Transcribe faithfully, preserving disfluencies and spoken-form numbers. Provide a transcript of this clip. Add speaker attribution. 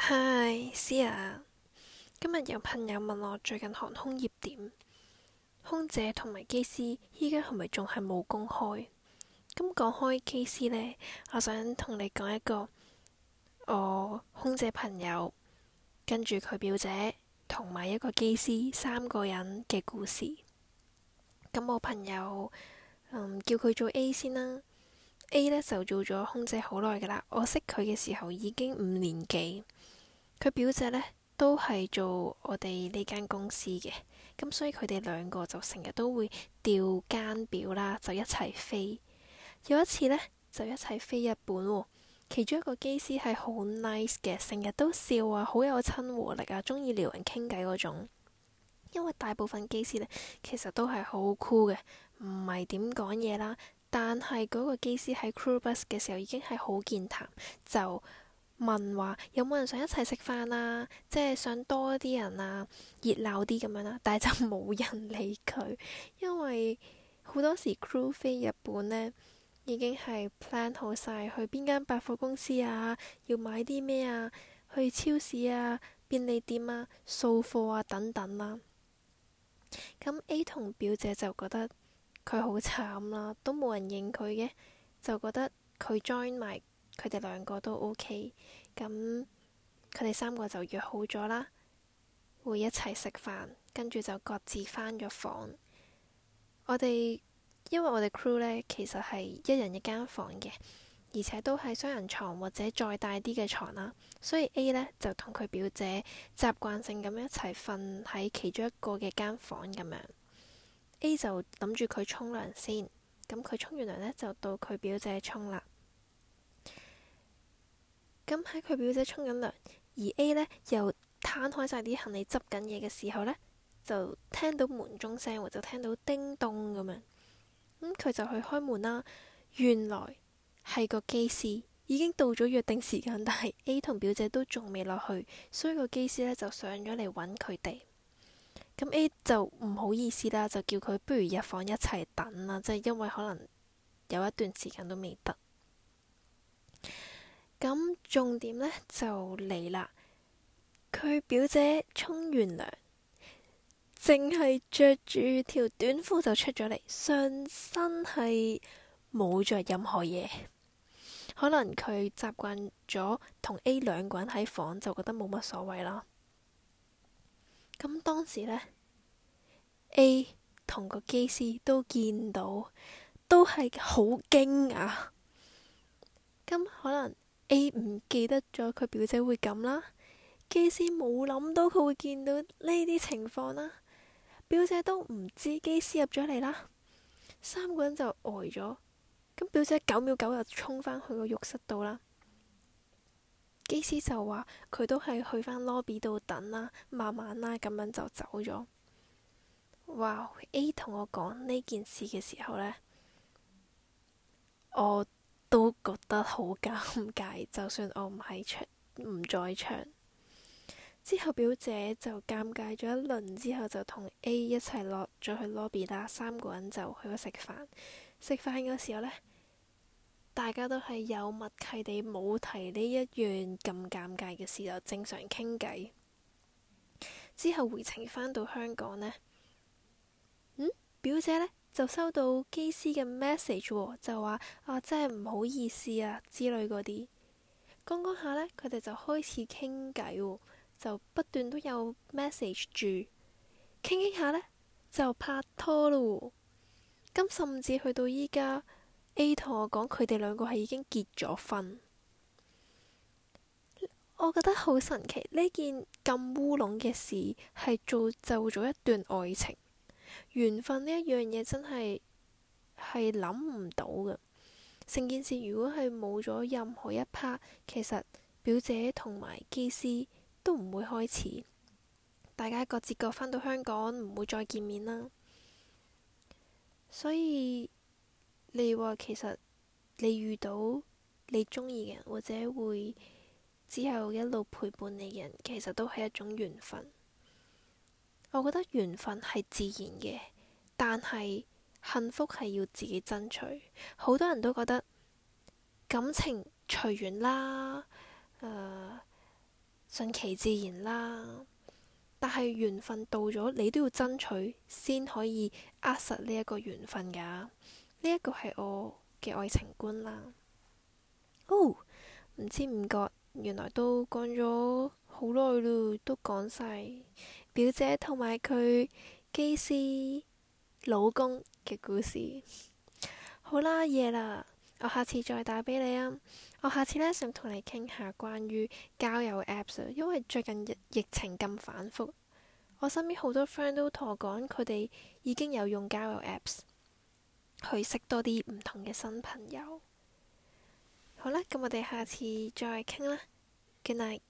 Speaker 1: 嗨，思啊，今日有朋友問我最近航空業點，空姐同埋機師依家係咪仲係冇工開？咁講開機師呢，我想同你講一個我空姐朋友跟住佢表姐同埋一個機師三個人嘅故事。咁我朋友嗯叫佢做 A 先啦，A 呢就做咗空姐好耐噶啦，我識佢嘅時候已經五年幾。佢表姐呢都係做我哋呢間公司嘅，咁所以佢哋兩個就成日都會調更表啦，就一齊飛。有一次呢，就一齊飛日本喎，其中一個機師係好 nice 嘅，成日都笑啊，好有親和力啊，中意撩人傾偈嗰種。因為大部分機師呢，其實都係好 cool 嘅，唔係點講嘢啦。但係嗰個機師喺 crew bus 嘅時候已經係好健談，就問話有冇人想一齊食飯啊？即係想多啲人啊，熱鬧啲咁樣啦。但係就冇人理佢，因為好多時 crew 飛日本呢已經係 plan 好晒去邊間百貨公司啊，要買啲咩啊，去超市啊、便利店啊、掃貨啊等等啦。咁 A 同表姐就覺得佢好慘啦，都冇人認佢嘅，就覺得佢 join 埋。佢哋兩個都 OK，咁佢哋三個就約好咗啦，會一齊食飯，跟住就各自返咗房。我哋因為我哋 crew 呢，其實係一人一間房嘅，而且都係雙人床或者再大啲嘅床啦，所以 A 呢，就同佢表姐習慣性咁一齊瞓喺其中一個嘅間房咁樣。A 就諗住佢沖涼先，咁佢沖完涼呢，就到佢表姐沖啦。咁喺佢表姐沖緊涼，而 A 呢又攤開晒啲行李執緊嘢嘅時候呢，就聽到門鐘聲，或者聽到叮咚咁樣。咁、嗯、佢就去開門啦。原來係個機師已經到咗約定時間，但係 A 同表姐都仲未落去，所以個機師呢就上咗嚟揾佢哋。咁 A 就唔好意思啦，就叫佢不如入房一齊等啦，即係因為可能有一段時間都未得。咁重點呢就嚟啦，佢表姐沖完涼，淨係着住條短褲就出咗嚟，上身係冇着任何嘢。可能佢習慣咗同 A 兩個人喺房，就覺得冇乜所謂啦。咁當時呢 A 同個機師都見到，都係好驚訝。咁可能A 唔記得咗佢表姐會咁啦，機師冇諗到佢會見到呢啲情況啦，表姐都唔知機師入咗嚟啦，三個人就呆咗。咁表姐九秒九又衝返去個浴室度啦，機師就話佢都係去返 lobby 度等啦，慢慢啦，咁樣就走咗。哇 A 同我講呢件事嘅時候呢，我都覺得好尷尬，就算我唔喺場，唔在場。之後表姐就尷尬咗一輪之後，就同 A 一齊落咗去 lobby 啦，三個人就去咗食飯。食飯嗰時候呢，大家都係有默契地冇提呢一樣咁尷尬嘅事，就正常傾偈。之後回程返到香港呢，嗯，表姐呢就收到機師嘅 message 喎，就話啊真係唔好意思啊之類嗰啲。講講下呢，佢哋就開始傾偈喎，就不斷都有 message 住，傾傾下呢，就拍拖咯。咁甚至去到依家 A 同我講佢哋兩個係已經結咗婚。我覺得好神奇，呢件咁烏龍嘅事係造就咗一段愛情。緣分呢一樣嘢真係係諗唔到嘅。成件事如果係冇咗任何一 part，其實表姐同埋機師都唔會開始，大家各自各返到香港，唔會再見面啦。所以你話其實你遇到你中意嘅人，或者會之後一路陪伴你嘅人，其實都係一種緣分。我覺得緣分係自然嘅，但係幸福係要自己爭取。好多人都覺得感情隨緣啦，誒、呃， 順其自然啦。但係緣分到咗，你都要爭取先可以握實呢一個緣分㗎。呢一個係我嘅愛情觀啦。哦，唔知唔覺，原來都講咗好耐咯，都講晒表姐同埋佢機師老公嘅故事。好啦，夜啦，我下次再打俾你啊。我下次呢，想同你傾下關於交友 Apps 啊，因為最近疫疫情咁反覆，我身邊好多 friend 都同我講，佢哋已經有用交友 Apps 去識多啲唔同嘅新朋友。好啦，咁我哋下次再傾啦。Good night。